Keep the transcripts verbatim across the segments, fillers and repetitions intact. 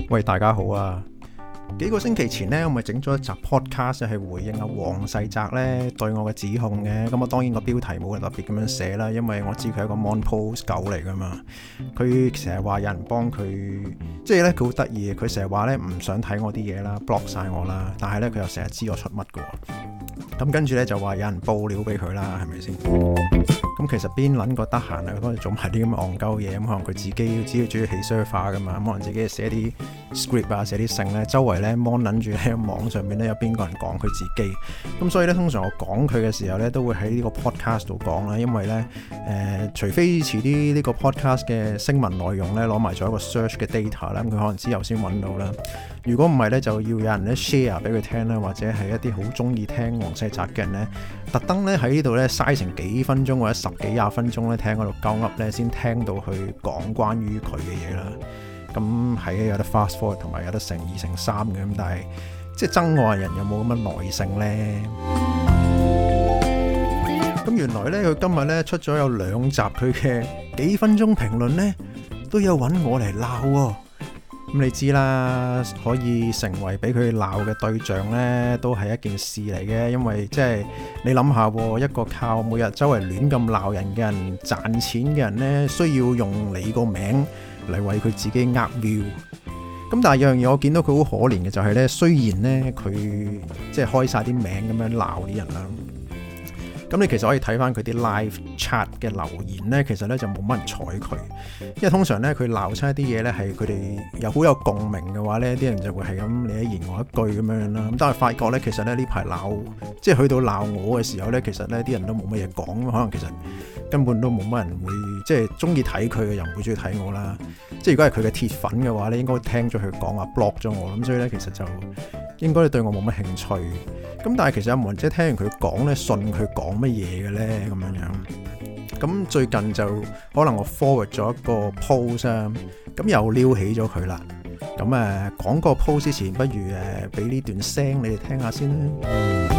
喂，大家好啊！幾個星期前呢，我咪整咗一集 podcast 係回應阿黃世澤呢對我嘅指控嘅。咁啊，當然個標題冇特別咁樣寫啦，因為我知佢係一個 mon post 狗嚟噶嘛。佢成日話有人幫佢，即係呢，佢好得意嘅。佢成日話呢唔想睇我啲嘢啦 ，block 晒我啦。但係呢，佢又成日知我出乜嘅。咁跟住呢，就話有人報料俾佢啦，係咪先？咁其實邊撚個得閒啊？佢當時做埋啲咁嘅戇鳩嘢，咁可能佢自己知道主要起 server 噶嘛，咁可能自己寫啲 script 啊，寫啲性咧，周圍咧 mon 撚住喺網上面咧有邊個人講佢自己，咁所以咧通常我講佢嘅時候咧都會喺呢個 podcast 度講啦，因為咧誒、呃、除非遲啲呢個 podcast 嘅聲文內容咧攞埋咗一個 search 嘅 data 啦，咁佢可能之後先揾到啦。如果唔係咧，就要有人咧 share 俾佢聽啦，或者係一啲好中意聽黃世澤嘅人咧，特登咧喺呢度咧嘥成幾分鐘或者十幾廿分鐘咧聽嗰度鳩噏咧，先聽到佢講關於佢嘅嘢啦。咁係有得 fast forward 同埋有得乘二乘三嘅，咁但係即係憎我嘅人有冇咁嘅耐性咧？咁原來咧佢今日咧出咗有兩集，佢嘅幾分鐘評論咧都有揾我嚟鬧喎。咁你知啦，可以成為俾佢鬧嘅對象呢，都係一件事嚟嘅。因為即係你諗下，一個靠每日周圍亂咁鬧人嘅人賺錢嘅人呢，需要用你個名嚟為佢自己呃 view。咁但係有樣嘢我見到佢好可憐嘅就係呢，雖然呢，佢即係開晒啲名咁樣鬧啲人啦。咁你其實可以睇翻佢啲 live chat 嘅留言呢，其實呢就冇乜人睬佢，因為通常呢，佢鬧出一啲嘢呢係佢哋又好有共鳴嘅話呢，啲人就會係咁你一言我一句咁樣啦。咁但係發覺呢，其實呢呢排鬧即係去到鬧我嘅時候呢，其實呢啲人都冇乜嘢講，可能其實根本都冇乜人會即係中意睇佢嘅，又唔會中意睇我啦。即係如果係佢嘅鐵粉嘅話呢，應該聽咗佢講話 block 咗我，咁所以呢，其實就應該對我冇乜興趣。咁但係其實有冇人即係聽完佢講咧，信佢講乜嘢嘅咧咁樣樣？咁最近就可能我 forward 咗一個 post 啊，咁又撩起咗佢啦。咁誒講個 post 之前，不如誒俾呢段聲你哋聽下先啦。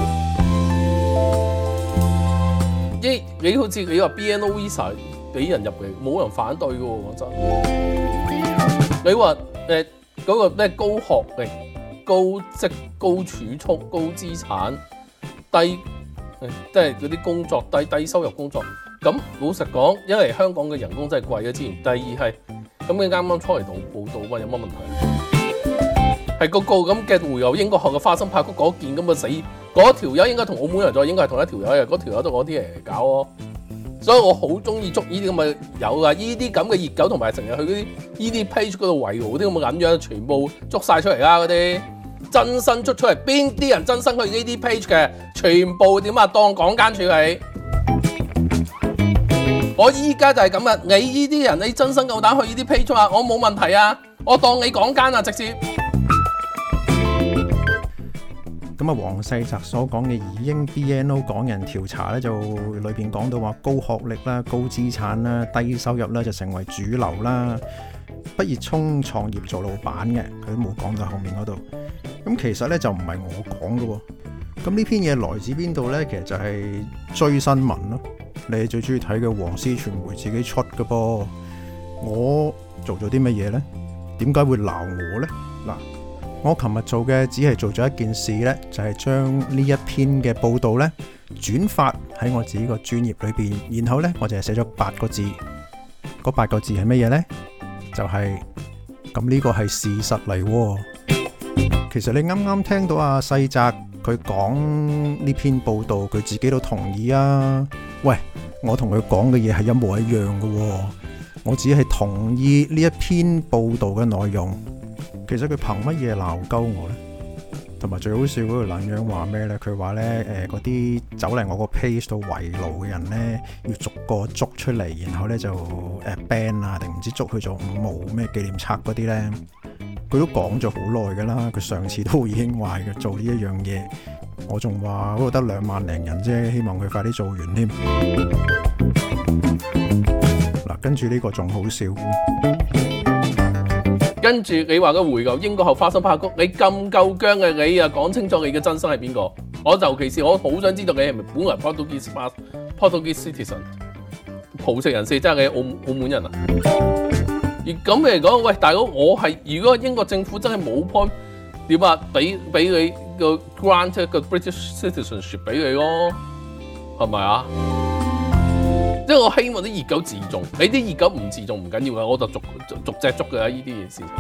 咦，你好似你話 B N O Visa 俾人入嚟，冇人反對嘅喎，我真。你話誒嗰個咩高學歷？高職、高儲蓄、高資產、低即係嗰啲工作低低收入工作。咁老實講，因為香港嘅人工真係貴咗之前。第二係咁你啱啱出嚟到報道，喂有乜問題？係個個咁嘅回流英國學嘅花生拍谷嗰件咁嘅死，嗰條友應該同澳門人再應該係同一條友嘅，嗰條友都攞啲嚟搞咯。所以我好中意捉呢啲咁嘅友噶，呢啲咁嘅熱狗同埋成日去嗰啲呢啲 page 嗰度圍爐啲咁嘅撚樣，全部捉晒出嚟啦嗰啲。真身捉出嚟，邊啲人真身去呢啲 page 嘅，全部點啊當港奸處理。我依家就係咁啊！你呢啲人，你真身夠膽去呢啲 page 啊？我冇問題啊，我當你港奸啊，直接。 咁啊，黃世澤所講嘅移英 B N O 港人調查咧，就裏邊講到話高學歷啦、高資產啦、低收入啦，就成為主流啦。不熱衷創業做老闆嘅，佢都冇講到後面嗰度。咁其實咧就唔係我講嘅喎。咁呢篇嘢來自邊度呢？其實就係追新聞咯。你最中意睇嘅黃絲傳媒自己出嘅噃。我做咗啲乜嘢呢？點解會鬧我呢？嗱，我琴日做嘅只係做咗一件事呢，就係將呢一篇嘅報道呢轉發喺我自己個專頁裏邊，然後呢，我就係寫咗八個字。嗰八個字係乜嘢呢？就係咁，呢個係事實嚟喎。其實你啱啱聽到阿世澤佢講呢篇報道，佢自己都同意啊。喂，我同佢講嘅嘢係一模一樣嘅喎，我只係同意呢一篇報道嘅內容。其實佢憑乜嘢鬧鳩我呢？同埋最好笑嗰個撚樣話咩呢？佢話呢，誒嗰啲走嚟我個 page 度圍爐嘅人呢，要逐個捉出嚟，然後呢就誒 ban 啊，定唔知捉佢做五毛咩紀念冊嗰啲呢。佢都講咗好耐噶啦，佢上次都已經話佢做呢一樣嘢，我仲話嗰度得兩萬零人啫，希望佢快啲做完添。嗱，跟住呢個仲好笑， 跟住你話佢回流英國後花生拍谷，你咁夠薑嘅你啊，講清楚你嘅真身係邊個？我尤其是我好想知道你係咪本來 Portuguese Portuguese citizen 葡籍人士，即係你澳澳門人啊？ 而咁嚟講，喂大佬，我係如果英國政府真係冇 point 點啊，俾俾你個 grant 個 British citizenship 俾你咯，係咪啊？即係我希望啲熱狗自重，你啲熱狗唔自重唔緊要嘅，我就逐逐逐隻捉嘅啦，呢啲件事。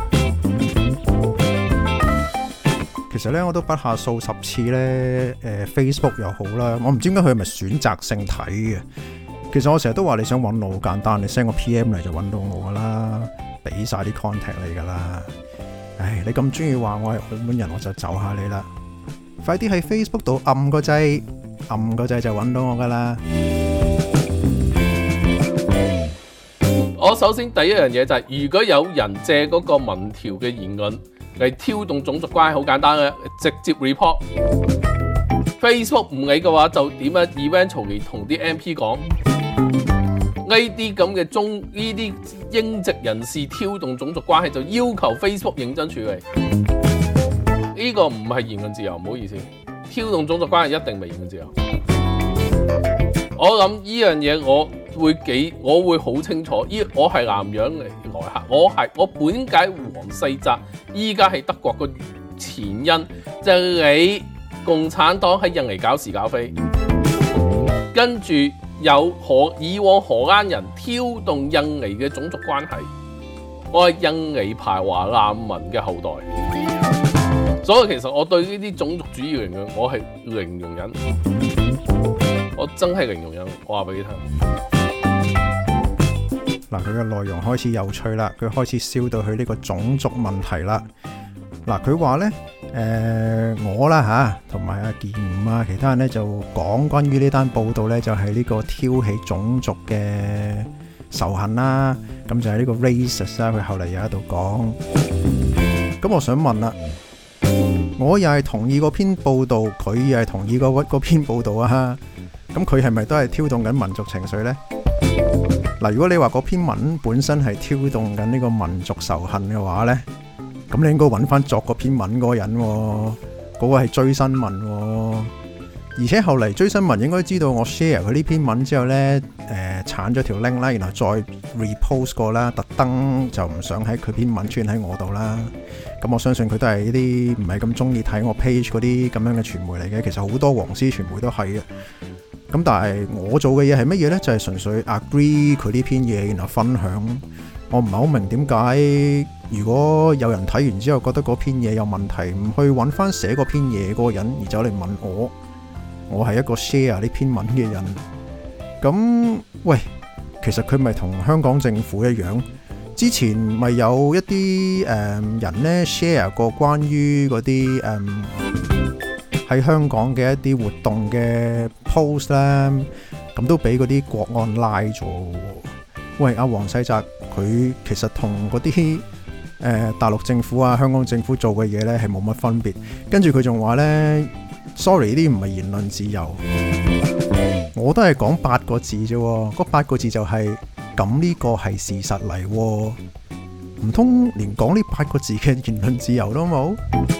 其實咧，我都不下數十次咧，誒、呃、Facebook 又好啦，我唔知點解佢係咪選擇性睇嘅。其實我成日都話你想揾我好簡單，你 send 個 P M 嚟就揾到我噶啦，俾晒啲 contact 你噶啦。唉，你咁中意話我係澳門人，我就就下你啦。快啲喺 Facebook 度撳個掣，撳個掣就揾到我噶啦。 我首先第一樣嘢就係、是，如果有人借嗰個民調嘅言論嚟挑動種族關係，好簡單嘅，直接 report。Facebook 唔理嘅話，就點樣 eventually 同啲 M P 講。呢啲咁嘅中呢啲英籍人士挑動種族關係，就要求 Facebook 認真處理。呢、這個唔係言論自由，唔好意思。挑動種族關係一定未言論自由。我諗呢樣嘢我會幾，我會好清楚。依我係南洋嚟來客，我係我本解黃世澤，依家係德國個前因就係、是、你共產黨喺印尼搞事搞非，跟住。有荷以往荷蘭人挑動印尼嘅種族關係，我係印尼排華難民嘅後代，所以其實我對呢啲種族主義嚟講，我係零容忍，我真係零容忍。我話俾你聽， 嗱，佢嘅內容開始有趣啦，佢開始燒到去呢個種族問題啦。嗱，佢話呢，誒、呃、我啦嚇，同埋阿健吾啊，其他人呢，就講關於呢單報道呢，就係、是、呢個挑起種族嘅仇恨啦。咁就係呢個 racist 啦。佢後嚟又喺度講。咁我想問啦，我又係同意嗰篇報道，佢又係同意嗰嗰篇報道啊。咁佢係咪都係挑動緊民族情緒呢？嗱，如果你話嗰篇文本身係挑動緊呢個民族仇恨嘅話呢，咁你應該揾翻作嗰篇文嗰個人，嗰、嗰個係追新聞，而且後嚟追新聞應該知道我 share 佢呢篇文之後呢，誒鏟咗條 link 啦，然後再 repost 過啦，特登就唔想喺佢篇文出現喺我度啦。咁我相信佢都係呢啲唔係咁中意睇我 page 嗰啲咁樣嘅傳媒嚟嘅，其實好多黃絲傳媒都係嘅。咁但係我做嘅嘢係乜嘢呢？就係、是、純粹 agree 佢呢篇嘢，然後分享。我唔係好明點解，如果有人睇完之後覺得嗰篇嘢有問題，唔去揾翻寫嗰篇嘢嗰個人，而走嚟問我，我係一個 share 呢篇文嘅人。咁喂，其實佢咪同香港政府一樣，之前咪有一啲誒、嗯、人呢 share 過關於嗰啲誒喺香港嘅一啲活動嘅 post 啦，咁都俾嗰啲國安拉咗。喂，阿黃世澤佢其實同嗰啲誒大陸政府啊、香港政府做嘅嘢呢係冇乜分別。跟住佢仲話呢 sorry 呢啲唔係言論自由，我都係講八個字啫，嗰八個字就係咁，呢個係事實嚟，唔通連講呢八個字嘅言論自由都冇？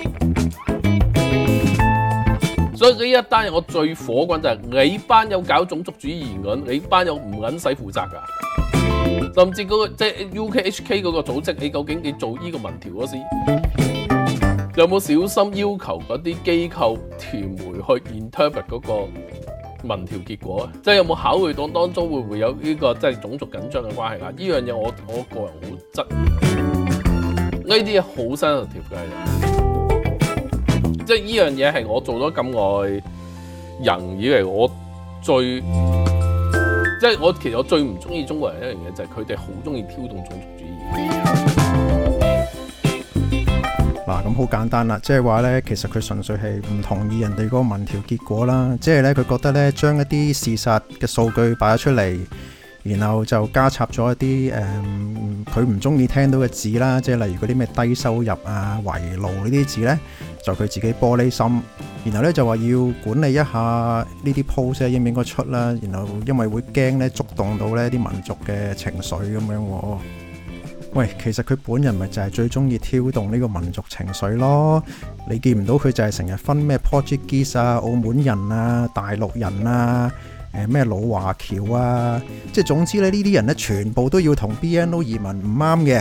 所以呢一單嘢我最火滾就係你班有搞種族主義言論，你班有唔撚使負責㗎。甚至嗰、那個即係 U K H K 嗰個組織，你究竟你做呢個民調嗰時，有冇小心要求嗰啲機構傳媒去 interpret 嗰個民調結果啊？即係有冇考慮到當中會唔會有呢、這個即係種族緊張嘅關係啊？呢樣嘢我我個人好質疑，呢啲嘢好 sensitive 嘅，即係呢樣嘢係我做咗咁耐人以嚟我最。即係我其實我最唔中意中國人一樣嘢，就係佢哋好中意挑動種族主義。 嗱，咁好簡單啦，即係話呢，其實佢純粹係唔同意人哋嗰個民調結果啦。即係呢，佢覺得呢，將一啲事實嘅數據擺咗出嚟，然後就加插咗一啲誒佢唔中意聽到嘅字啦。即係例如嗰啲咩低收入啊、圍爐呢啲字呢，就佢自己玻璃心。然後咧就話要管理一下呢啲 post 應唔應該出啦，然後因為會驚咧觸動到呢啲民族嘅情緒咁樣喎。喂，其實佢本人咪就係最中意挑動呢個民族情緒咯。你見唔到佢就係成日分咩 Portuguese 啊、澳門人啊、大陸人啊、誒咩老華僑啊，即係總之咧呢啲人咧全部都要同 B N O 移民唔啱嘅，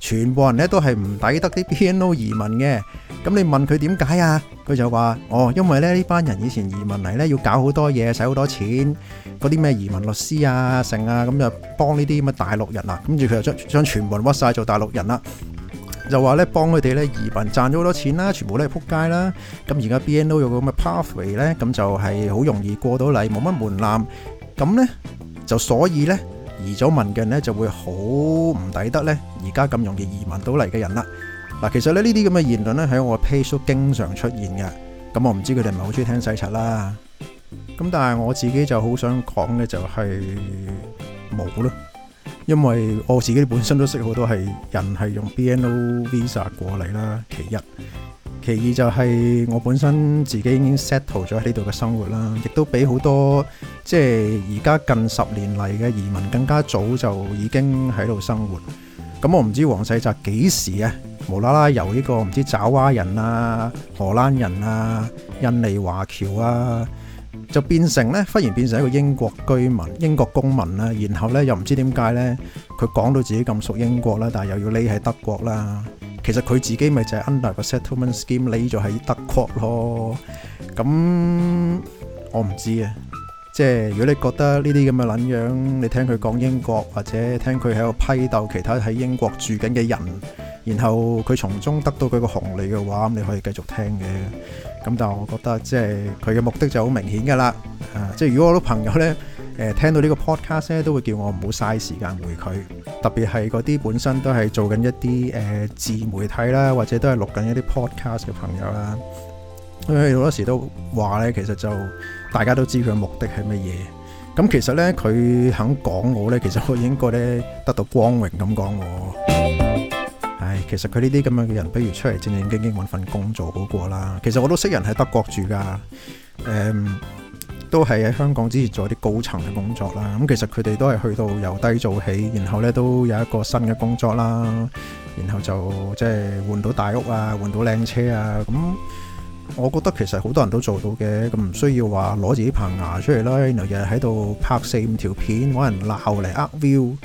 全部人咧都係唔抵得啲 B N O 移民嘅。咁你問佢點解啊？佢就話：哦，因為咧呢班人以前移民嚟咧要搞好多嘢，使好多錢，嗰啲咩移民律師啊、剩啊，咁就幫呢啲咁嘅大陸人啊。跟住佢就將將全部人屈晒做大陸人啦。就話咧幫佢哋咧移民賺咗好多錢啦，全部都係撲街啦。咁而家 B N O 有個咁嘅 pathway 咧，咁就係好容易過到嚟，冇乜門檻。咁咧就所以咧移咗民嘅人咧就會好唔抵得咧，而家咁容易移民到嚟嘅人啦。嗱，其實咧呢啲咁嘅言論咧喺我 page 都經常出現嘅。咁我唔知佢哋係咪好中意聽細柒啦。咁但係我自己就好想講嘅就係冇咯。因為我自己本身都識好多係人係用 B N O visa 過嚟啦，其一，其二就係我本身自己已經 settle 咗喺呢度嘅生活啦，亦都比好多即係而家近十年嚟嘅移民更加早就已經喺度生活。咁我唔知黃世澤幾時啊，無啦啦由呢個唔知爪哇人啊、荷蘭人啊、印尼華僑啊，就變成咧，忽然變成一個英國居民、英國公民啦。然後咧，又唔知點解咧，佢講到自己咁熟英國啦，但係又要匿喺德國啦。其實佢自己咪就係 under 個 settlement scheme 匿咗喺德國咯。咁我唔知啊。即係如果你覺得呢啲咁嘅撚樣，你聽佢講英國，或者聽佢喺度批鬥其他喺英國住緊嘅人，然後佢從中得到佢個紅利嘅話，咁你可以繼續聽嘅。咁但係我覺得即係佢嘅目的就好明顯㗎啦。啊，即係如果我啲朋友呢，誒聽到呢個 podcast 咧，都會叫我唔好嘥時間回佢。特別係嗰啲本身都係做緊一啲誒、呃、自媒體啦，或者都係錄緊一啲 podcast 嘅朋友啦。因為好多時都話呢，其實就大家都知佢嘅目的係乜嘢。咁其實呢，佢肯講我呢，其實我應該呢得到光榮咁講我。唉，其實佢呢啲咁樣嘅人，不如出嚟正正經經揾份工做好過啦。其實我都識人喺德國住㗎，誒、嗯，都係喺香港之前做啲高層嘅工作啦。咁其實佢哋都係去到由低做起，然後呢都有一個新嘅工作啦，然後就即係換到大屋啊，換到靚車啊。咁我覺得其實好多人都做到嘅，咁唔需要話攞自己棚牙出嚟啦，然後日日喺度拍四五條片，揾人鬧嚟呃 view。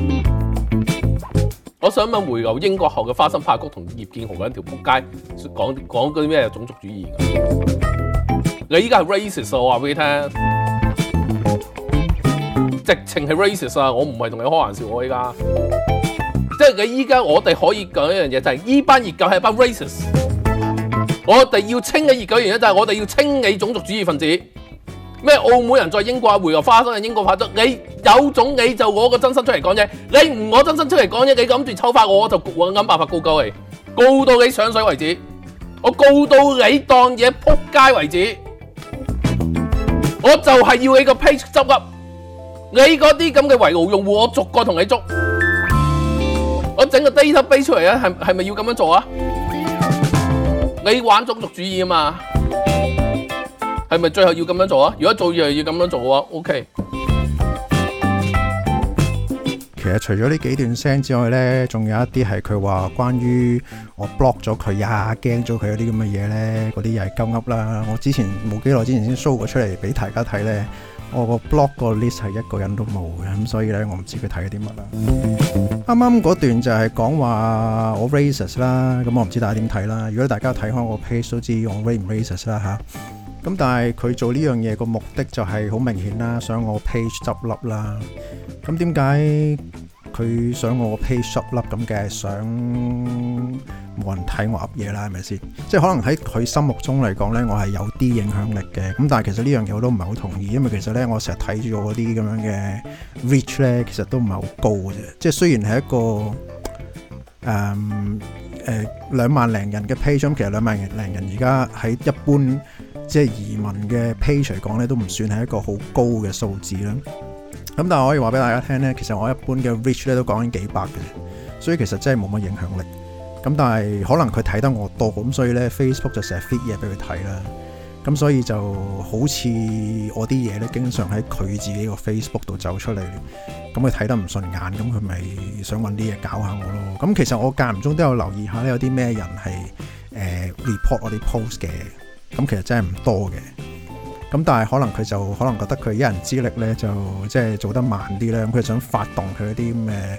我想問回流英國後嘅花生派谷同葉建豪嗰條仆街講講嗰啲咩種族主義？你依家係 racist 啊！我話俾你聽，直情係 racist 啊！我唔係同你開玩笑，我依家即係你依家我哋可以講一樣嘢，就係依班熱狗係一班 racist。我哋要清理熱狗原因就係我哋要清理種族主義分子。咩澳門人在英國回流花生係英國法則，你有種你就攞個真身出嚟講嘢，你唔攞真身出嚟講嘢，你諗住抽法我就諗辦法告鳩你，告到你上水為止，我告到你當嘢撲街為止，我就係要你個 page 執笠，你嗰啲咁嘅圍爐用戶我逐個同你捉，我整個 database 出嚟啊，係係咪要咁樣做啊？你玩種族主義啊嘛？係咪最後要咁樣做啊？如果做嘢要咁樣做嘅話 ，OK。 其實除咗呢幾段聲之外呢，仲有一啲係佢話關於我 block 咗佢呀，驚咗佢嗰啲咁嘅嘢呢，嗰啲又係鳩噏啦。我之前冇幾耐之前先 show 過出嚟俾大家睇呢，我個 block 個 list 係一個人都冇嘅，咁所以呢，我唔知佢睇咗啲乜啦。啱啱嗰段就係講話我 racist 啦，咁我唔知大家點睇啦。如果大家睇開我 page 都知我 race 唔 racist 啦嚇。咁但係佢做呢樣嘢個目的就係好明顯啦，想我 page 執笠啦。咁點解佢想我 page 執笠？咁嘅係想冇人睇我噏嘢啦，係咪先？即係可能喺佢心目中嚟講呢，我係有啲影響力嘅。咁但係其實呢樣嘢我都唔係好同意，因為其實呢，我成日睇住嗰啲咁樣嘅 reach 呢，其實都唔係好高嘅啫。即係雖然係一個誒誒兩萬零人嘅 page，咁其實兩萬零人而家喺一般即係移民嘅 page 嚟講咧，都唔算係一個好高嘅數字啦。咁但係我可以話俾大家聽咧，其實我一般嘅 reach 咧都講緊幾百嘅，所以其實真係冇乜影響力。咁但係可能佢睇得我多，咁所以咧 Facebook 就成日 feed 嘢俾佢睇啦。咁所以就好似我啲嘢咧，經常喺佢自己個 Facebook 度走出嚟，咁佢睇得唔順眼，咁佢咪想揾啲嘢搞下我咯。咁其實我間唔中都有留意下咧，有啲咩人係誒、呃、report 我啲 post 嘅。咁其實真係唔多嘅，咁但係可能佢就可能覺得佢一人之力咧，就即係做得慢啲咧，咁佢想發動佢嗰啲咁嘅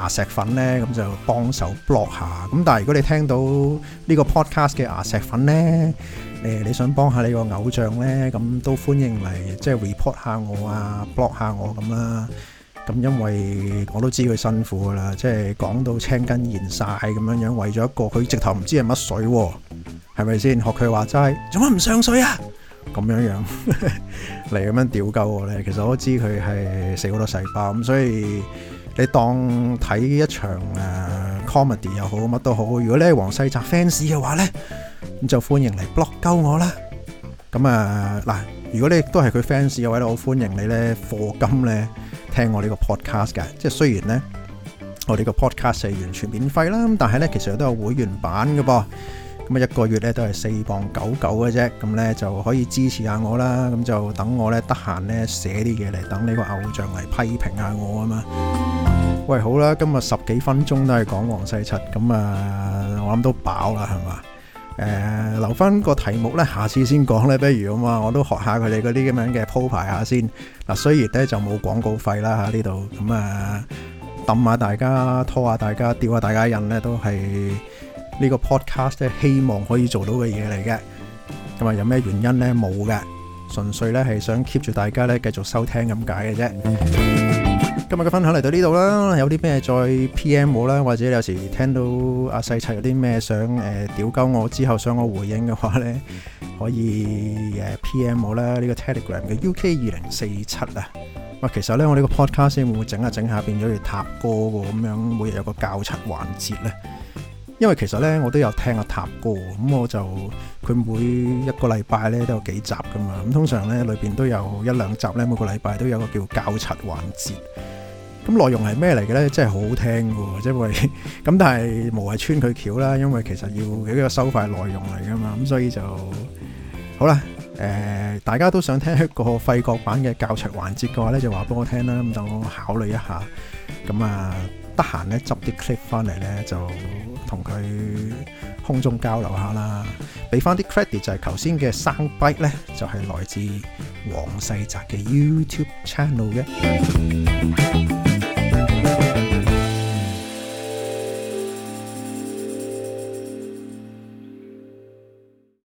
牙石粉呢，咁就幫手 block 下。咁但係如果你聽到呢個 podcast 嘅牙石粉呢，誒你想幫下你個偶像呢，咁都歡迎嚟即係 report 下我啊 block 下我咁啦。咁因為我都知佢辛苦噶啦，即係講到青筋現晒咁樣樣，為咗一個佢直頭唔知係乜水喎，係咪先？學佢話齋，做乜唔上水啊？咁樣樣嚟咁樣屌鳩我咧，其實我都知佢係死好多細胞咁，所以你當睇一場誒、呃、comedy 又好，乜都好。如果你係黃世澤 fans 嘅話咧，咁就歡迎嚟 block 鳩我啦。咁啊嗱，如果你都係佢 fans 嘅話咧，我歡迎你咧課金咧聽我呢個 podcast 嘅。即係雖然咧我呢個 podcast 係完全免費啦，咁但係咧其實都有會員版嘅噃。咁啊一個月咧都係四磅九九嘅啫，咁咧就可以支持下我啦。咁就等我咧得閒咧寫啲嘢嚟，等呢個偶像嚟批評下我啊嘛。喂，好啦，今日十幾分鐘都係講黃世澤，咁啊我諗都飽啦，係嘛？誒、呃、留翻個題目咧，下次先講咧。不如咁啊，我都學下佢哋嗰啲咁樣嘅鋪排下先。嗱，雖然咧就冇廣告費啦嚇呢度，咁啊揼下大家，拖下大家，吊下大家癮咧，都係呢個 podcast 咧希望可以做到嘅嘢嚟嘅。咁啊有咩原因咧？冇嘅，純粹咧係想 keep 住大家咧繼續收聽咁解嘅啫。今日嘅分享嚟到呢度啦，有啲咩再 P M 我啦，或者有時聽到阿細齊有啲咩想誒屌鳩我之後想我回應嘅話咧，可以誒 P M 我啦，呢個 Telegram 嘅 U K 二零四七啊。哇，其實咧我呢個 podcast 會唔會整下整下變咗嚟塔哥喎？咁樣每日有個教柒環節咧。因為其實咧我都有聽阿塔哥，咁我就佢每一個禮拜咧都有幾集噶嘛，咁通常咧裏邊都有一兩集咧，每個禮拜都有個叫教柒環節。咁內容係咩嚟嘅咧？真係好好聽嘅，因為咁但係無謂穿佢橋啦，因為其實要幾個收費內容嚟噶嘛，咁所以就好啦。誒、呃，大家都想聽一個廢角版嘅教柒環節嘅話咧，就話俾我聽啦，咁就我考慮一下。咁啊，得閒咧執啲 clip 翻嚟咧，就同佢空中交流下啦。俾翻啲 credit 就係頭先嘅 soundbite 咧，就係、是、來自黃世澤嘅 YouTube channel 嘅。